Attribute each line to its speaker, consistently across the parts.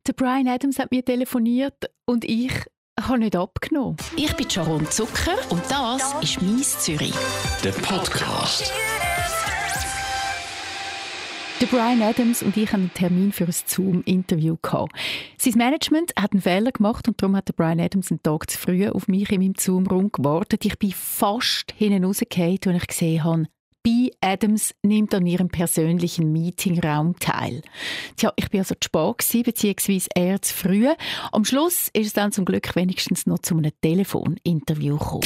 Speaker 1: Der Bryan Adams hat mir telefoniert und ich habe nicht abgenommen.
Speaker 2: Ich bin Sharon Zucker und das ist «Mies Zürich».
Speaker 3: Der Podcast.
Speaker 1: Der Bryan Adams und ich hatten einen Termin für ein Zoom-Interview gehabt. Sein Management hat einen Fehler gemacht und darum hat der Bryan Adams einen Tag zu früh auf mich in meinem Zoom-Raum gewartet. Ich bin fast hinten rausgefallen, als ich gesehen habe, B. Adams nimmt an ihrem persönlichen Meetingraum teil. Tja, ich war also zu spät gewesen, beziehungsweise eher zu früh. Am Schluss ist es dann zum Glück wenigstens noch zu einem Telefoninterview gekommen.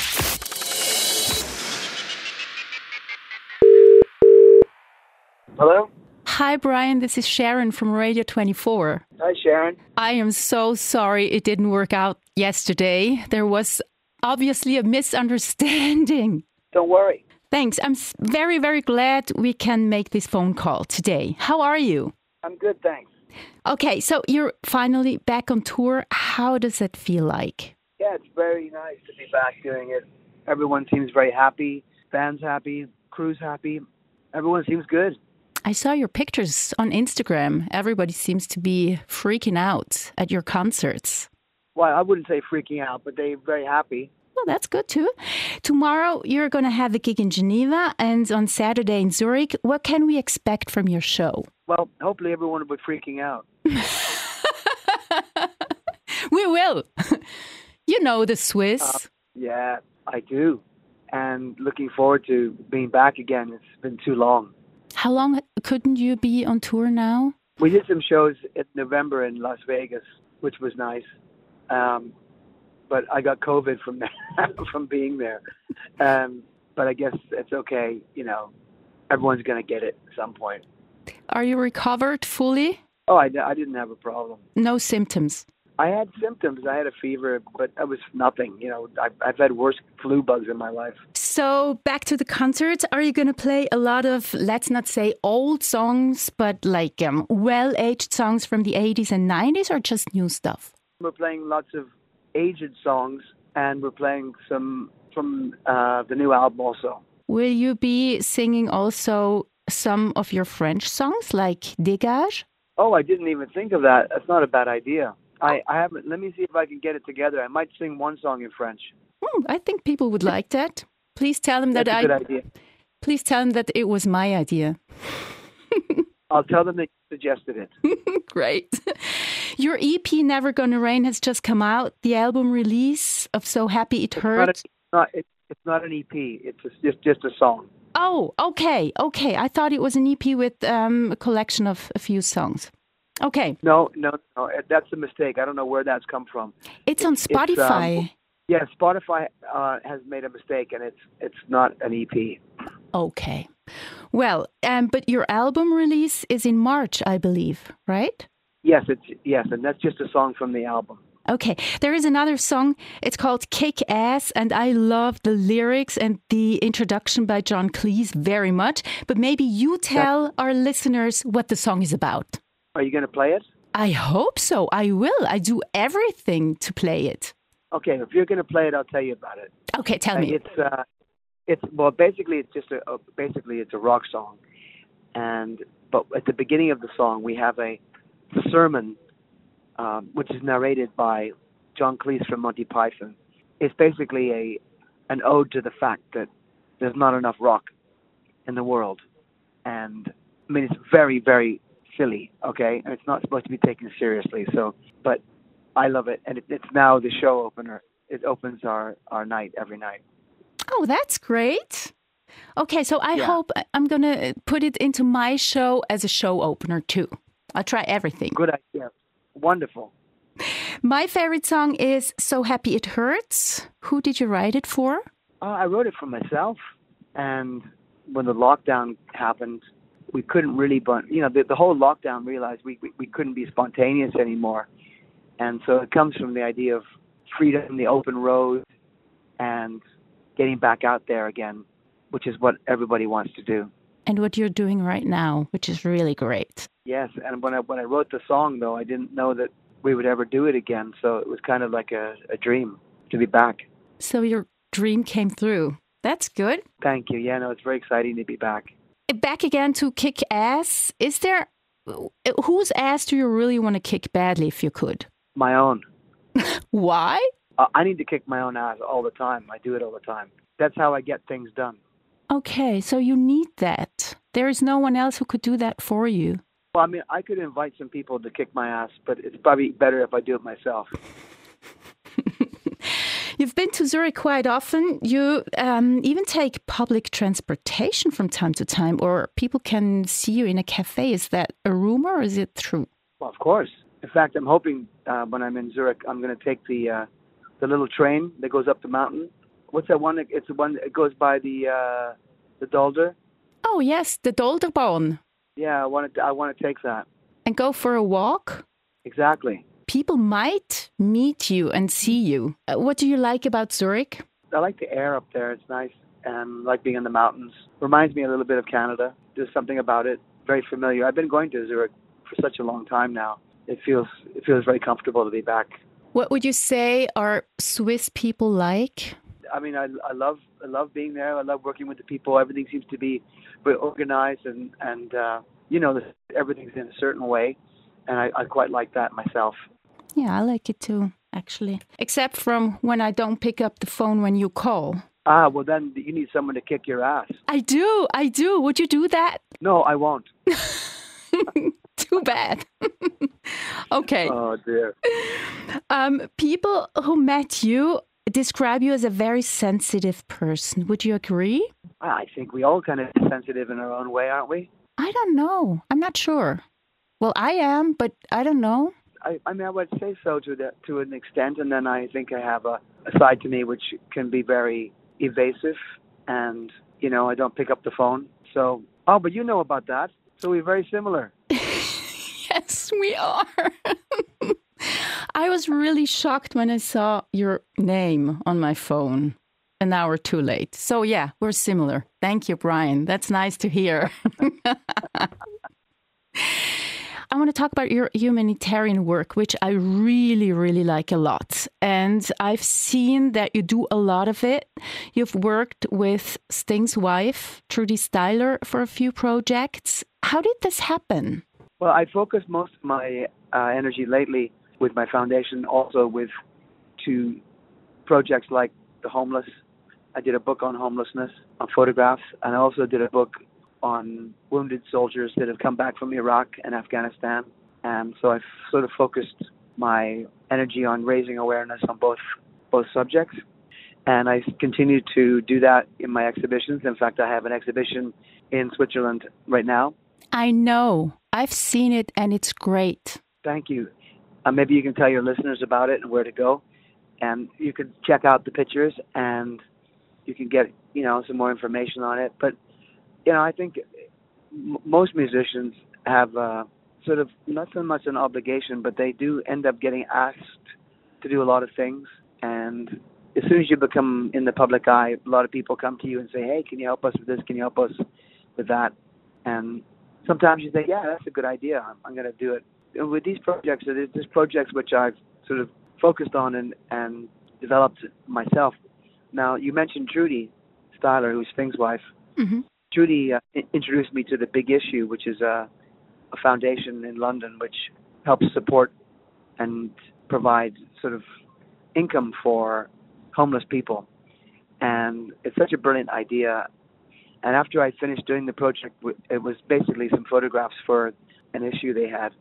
Speaker 4: Hello?
Speaker 1: Hi Bryan, this is Sharon from Radio 24.
Speaker 4: Hi, Sharon.
Speaker 1: I am so sorry it didn't work out yesterday. There was obviously a misunderstanding.
Speaker 4: Don't worry.
Speaker 1: Thanks. I'm very, very glad we can make this phone call today. How are you?
Speaker 4: I'm good, thanks.
Speaker 1: Okay, so you're finally back on tour. How does that feel like?
Speaker 4: Yeah, it's very nice to be back doing it. Everyone seems very happy. Band's happy. Crew's happy. Everyone seems good.
Speaker 1: I saw your pictures on Instagram. Everybody seems to be freaking out at your concerts.
Speaker 4: Well, I wouldn't say freaking out, but they're very happy.
Speaker 1: Well, that's good too. Tomorrow you're going to have a gig in Geneva and on Saturday in Zurich. What can we expect from your show?
Speaker 4: Well, hopefully everyone will be freaking out.
Speaker 1: We will. You know the Swiss.
Speaker 4: Yeah, I do. And looking forward to being back again. It's been too long.
Speaker 1: How long couldn't you be on tour now?
Speaker 4: We did some shows in November in Las Vegas, which was nice. But I got COVID from from being there. But I guess it's okay. You know, everyone's going to get it at some point.
Speaker 1: Are you recovered fully?
Speaker 4: Oh, I didn't have a problem.
Speaker 1: No symptoms?
Speaker 4: I had symptoms. I had a fever, but that was nothing. You know, I've had worse flu bugs in my life.
Speaker 1: So back to the concerts. Are you going to play a lot of, let's not say old songs, but like well-aged songs from the 80s and 90s, or just new stuff?
Speaker 4: We're playing lots of aged songs, and we're playing some from the new album also.
Speaker 1: Will you be singing also some of your French songs, like Dégage?
Speaker 4: Oh, I didn't even think of that. That's not a bad idea. I haven't. Let me see if I can get it together. I might sing one song in French.
Speaker 1: I think people would like that. Please tell them
Speaker 4: That's a good idea.
Speaker 1: Please tell them that it was my idea.
Speaker 4: I'll tell them that you suggested it.
Speaker 1: Great. Your EP, Never Gonna Rain, has just come out. The album release of So Happy It Hurts.
Speaker 4: It's not an EP. It's just a song.
Speaker 1: Oh, okay. I thought it was an EP with a collection of a few songs. Okay.
Speaker 4: No. That's a mistake. I don't know where that's come from.
Speaker 1: It's on Spotify.
Speaker 4: Yeah, Spotify has made a mistake, and it's not an EP.
Speaker 1: Okay. Well, but your album release is in March, I believe, right?
Speaker 4: Yes, and that's just a song from the album.
Speaker 1: Okay. There is another song. It's called Kick Ass, and I love the lyrics and the introduction by John Cleese very much. But maybe you tell our listeners what the song is about.
Speaker 4: Are you going to play it?
Speaker 1: I hope so. I will. I do everything to play it.
Speaker 4: Okay, if you're going to play it, I'll tell you about it.
Speaker 1: Okay, tell me.
Speaker 4: It's basically it's just a rock song, but at the beginning of the song we have a sermon, which is narrated by John Cleese from Monty Python. It's basically an ode to the fact that there's not enough rock in the world, and I mean it's very, very silly, okay, and it's not supposed to be taken seriously. So, but I love it, and it's now the show opener. It opens our night every night.
Speaker 1: Oh, that's great. Okay, so I hope I'm going to put it into my show as a show opener too. I'll try everything.
Speaker 4: Good idea. Wonderful.
Speaker 1: My favorite song is So Happy It Hurts. Who did you write it for?
Speaker 4: I wrote it for myself, and when the lockdown happened, we couldn't really, the whole lockdown realized we couldn't be spontaneous anymore. And so it comes from the idea of freedom, the open road, and getting back out there again, which is what everybody wants to do.
Speaker 1: And what you're doing right now, which is really great.
Speaker 4: Yes, and when I wrote the song, though, I didn't know that we would ever do it again. So it was kind of like a dream to be back.
Speaker 1: So your dream came through. That's good.
Speaker 4: Thank you. Yeah, no, it's very exciting to be back.
Speaker 1: Back again to Kick Ass. Is there Whose ass do you really want to kick badly if you could?
Speaker 4: My own.
Speaker 1: Why?
Speaker 4: I need to kick my own ass all the time. I do it all the time. That's how I get things done.
Speaker 1: Okay, so you need that. There is no one else who could do that for you.
Speaker 4: Well, I mean, I could invite some people to kick my ass, but it's probably better if I do it myself.
Speaker 1: You've been to Zurich quite often. You even take public transportation from time to time, or people can see you in a cafe. Is that a rumor or is it true?
Speaker 4: Well, of course. In fact, I'm hoping when I'm in Zurich, I'm going to take the little train that goes up the mountain. What's that one? It's the one that goes by the Dolder.
Speaker 1: Oh yes, the Dolderbahn.
Speaker 4: Yeah, I want to take that.
Speaker 1: And go for a walk?
Speaker 4: Exactly.
Speaker 1: People might meet you and see you. What do you like about Zurich?
Speaker 4: I like the air up there. It's nice. And I like being in the mountains. Reminds me a little bit of Canada. There's something about it. Very familiar. I've been going to Zurich for such a long time now. It feels very comfortable to be back.
Speaker 1: What would you say are Swiss people like?
Speaker 4: I mean, I love being there. I love working with the people. Everything seems to be very organized and everything's in a certain way. And I quite like that myself.
Speaker 1: Yeah, I like it too, actually. Except from when I don't pick up the phone when you call.
Speaker 4: Well then you need someone to kick your ass.
Speaker 1: I do. Would you do that?
Speaker 4: No, I won't.
Speaker 1: Too bad. Okay.
Speaker 4: Oh, dear.
Speaker 1: People who met you describe you as a very sensitive person. Would you agree?
Speaker 4: I think we all kind of sensitive in our own way, aren't we?
Speaker 1: I don't know. I'm not sure. Well, I am, but I don't know.
Speaker 4: I mean, I would say so to an extent, and then I think I have a side to me which can be very evasive, and, I don't pick up the phone. So, but you know about that. So we're very similar.
Speaker 1: Yes, we are. I was really shocked when I saw your name on my phone an hour too late. So yeah, we're similar. Thank you, Brian. That's nice to hear. I want to talk about your humanitarian work, which I really, really like a lot. And I've seen that you do a lot of it. You've worked with Sting's wife, Trudy Styler, for a few projects. How did this happen?
Speaker 4: Well, I focused most of my energy lately with my foundation, also to projects like the homeless. I did a book on homelessness, on photographs, and I also did a book on wounded soldiers that have come back from Iraq and Afghanistan. And so I've sort of focused my energy on raising awareness on both subjects. And I continue to do that in my exhibitions. In fact, I have an exhibition in Switzerland right now.
Speaker 1: I know. I've seen it and it's great.
Speaker 4: Thank you. Maybe you can tell your listeners about it and where to go. And you can check out the pictures and you can get, some more information on it. But I think most musicians have sort of not so much an obligation, but they do end up getting asked to do a lot of things. And as soon as you become in the public eye, a lot of people come to you and say, hey, can you help us with this? Can you help us with that? And sometimes you say, yeah, that's a good idea. I'm going to do it. And with these projects, there's projects which I've sort of focused on and developed myself. Now, you mentioned Trudy Styler, who's Sting's wife.
Speaker 1: Mm-hmm.
Speaker 4: Trudy introduced me to the Big Issue, which is a foundation in London which helps support and provide sort of income for homeless people. And it's such a brilliant idea. And after I finished doing the project, it was basically some photographs for an issue they had.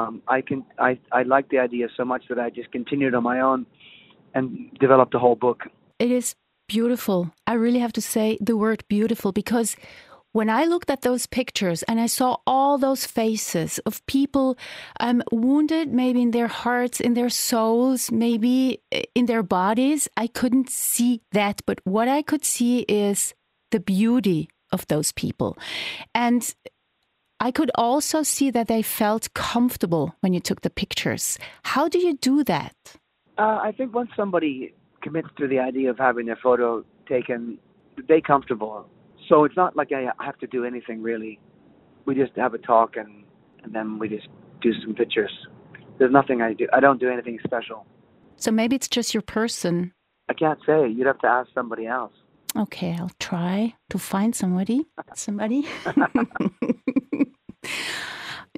Speaker 4: I liked the idea so much that I just continued on my own and developed a whole book.
Speaker 1: It is beautiful. I really have to say the word beautiful, because when I looked at those pictures and I saw all those faces of people wounded, maybe in their hearts, in their souls, maybe in their bodies, I couldn't see that. But what I could see is the beauty of those people. And I could also see that they felt comfortable when you took the pictures. How do you do that?
Speaker 4: I think once somebody commits to the idea of having their photo taken, they're comfortable. So it's not like I have to do anything really. We just have a talk and then we just do some pictures. There's nothing I do. I don't do anything special.
Speaker 1: So maybe it's just your person.
Speaker 4: I can't say. You'd have to ask somebody else.
Speaker 1: Okay, I'll try to find somebody.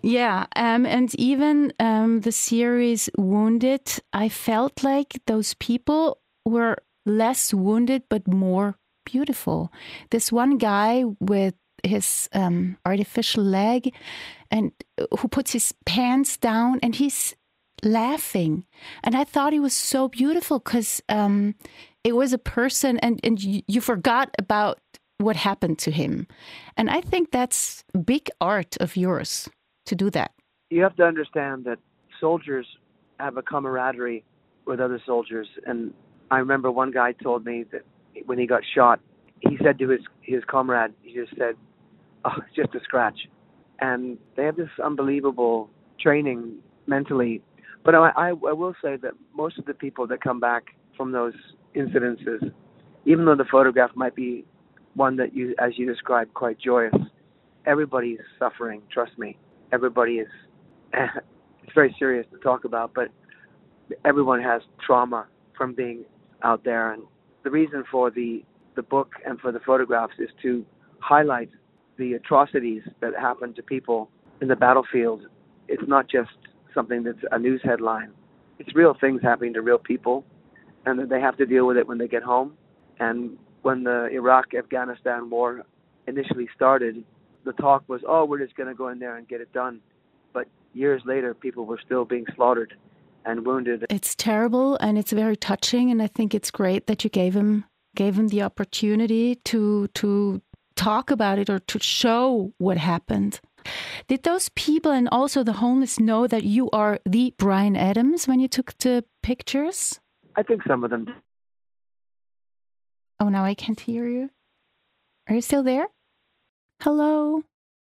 Speaker 1: Yeah, and even the series Wounded, I felt like those people were less wounded but more beautiful. This one guy with his artificial leg and who puts his pants down and he's laughing. And I thought he was so beautiful because it was a person and you forgot about what happened to him. And I think that's big art of yours to do that.
Speaker 4: You have to understand that soldiers have a camaraderie with other soldiers. And I remember one guy told me that when he got shot, he said to his comrade, he just said, "Oh, it's just a scratch." And they have this unbelievable training mentally. But I will say that most of the people that come back from those incidences, even though the photograph might be one that you, as you described, quite joyous, everybody's suffering, trust me. Everybody is, it's very serious to talk about, but everyone has trauma from being out there. And the reason for the book and for the photographs is to highlight the atrocities that happen to people in the battlefield. It's not just something that's a news headline. It's real things happening to real people, and that they have to deal with it when they get home. And when the Iraq-Afghanistan war initially started, the talk was, oh, we're just going to go in there and get it done. But years later, people were still being slaughtered and wounded.
Speaker 1: It's terrible and it's very touching. And I think it's great that you gave him the opportunity to talk about it or to show what happened. Did those people and also the homeless know that you are the Bryan Adams when you took the pictures?
Speaker 4: I think some of them.
Speaker 1: Oh, now I can't hear you. Are you still there? Hello?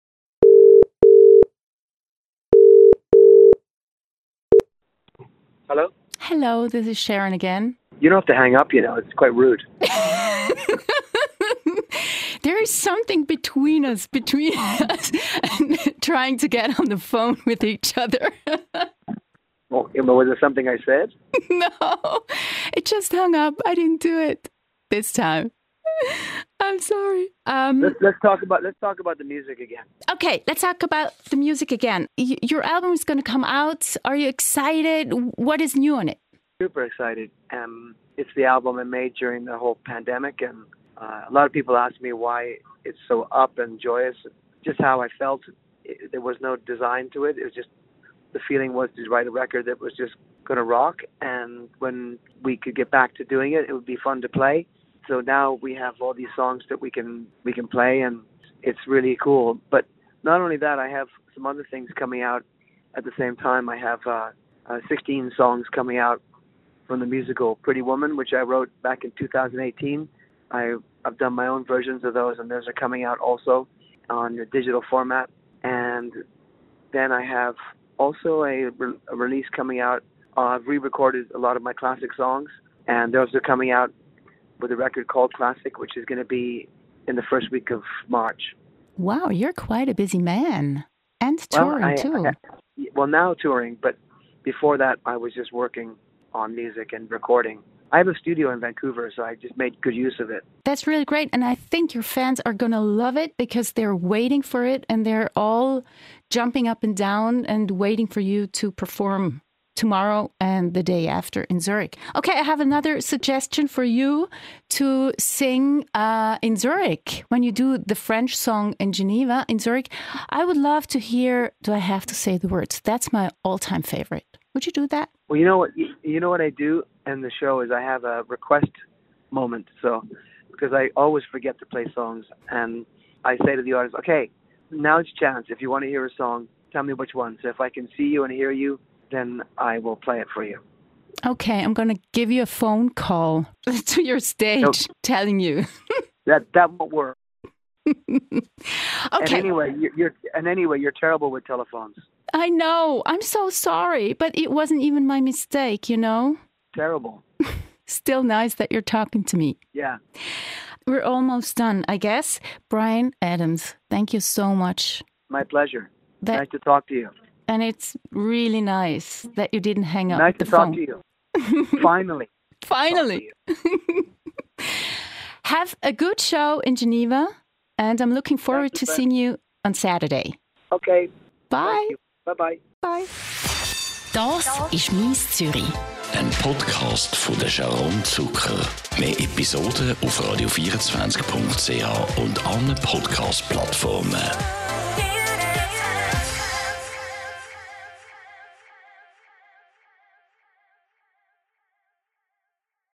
Speaker 4: Hello?
Speaker 1: Hello, this is Sharon again.
Speaker 4: You don't have to hang up, it's quite rude.
Speaker 1: There is something between us, and trying to get on the phone with each other.
Speaker 4: Well, was there something I said?
Speaker 1: No, it just hung up. I didn't do it this time. I'm sorry.
Speaker 4: Let's talk about the music again.
Speaker 1: Okay, let's talk about the music again. Your album is going to come out. Are you excited? What is new on it?
Speaker 4: Super excited. It's the album I made during the whole pandemic, and a lot of people ask me why it's so up and joyous. Just how I felt. There was no design to it. It was just the feeling was to write a record that was just going to rock, and when we could get back to doing it, it would be fun to play. So now we have all these songs that we can play, and it's really cool. But not only that, I have some other things coming out at the same time. I have 16 songs coming out from the musical Pretty Woman, which I wrote back in 2018. I've done my own versions of those, and those are coming out also on a digital format. And then I have also a release coming out. I've re-recorded a lot of my classic songs, and those are coming out with a record called Classic, which is going to be in the first week of March.
Speaker 1: Wow, you're quite a busy man. And touring, too.
Speaker 4: Well, now touring, but before that, I was just working on music and recording. I have a studio in Vancouver, so I just made good use of it.
Speaker 1: That's really great. And I think your fans are going to love it because they're waiting for it and they're all jumping up and down and waiting for you to perform tomorrow and the day after in Zurich. Okay, I have another suggestion for you to sing in Zurich. When you do the French song in Geneva, in Zurich, I would love to hear Do I Have to Say the Words? That's my all-time favorite. Would you do that?
Speaker 4: Well, you know what I do in the show is I have a request moment. So, because I always forget to play songs, and I say to the audience, okay, now's your chance. If you want to hear a song, tell me which one. So if I can see you and hear you, then I will play it for you.
Speaker 1: Okay, I'm going to give you a phone call to your stage telling you.
Speaker 4: that won't work.
Speaker 1: Okay.
Speaker 4: And anyway, you're terrible with telephones.
Speaker 1: I know. I'm so sorry, but it wasn't even my mistake,
Speaker 4: Terrible.
Speaker 1: Still nice that you're talking to me.
Speaker 4: Yeah.
Speaker 1: We're almost done, I guess. Bryan Adams, thank you so much.
Speaker 4: My pleasure. Nice to talk to you.
Speaker 1: And it's really nice that you didn't hang up
Speaker 4: nice
Speaker 1: the
Speaker 4: phone.
Speaker 1: Nice
Speaker 4: to talk to you. Finally.
Speaker 1: Finally. Have a good show in Geneva, and I'm looking forward to seeing you on Saturday.
Speaker 4: Okay.
Speaker 1: Bye.
Speaker 4: Bye-bye.
Speaker 1: Bye.
Speaker 2: Das ist «Mies Zürich».
Speaker 3: Ein Podcast von der Sharon Zucker. Mehr Episoden auf radio24.ch und allen Podcast-Plattformen.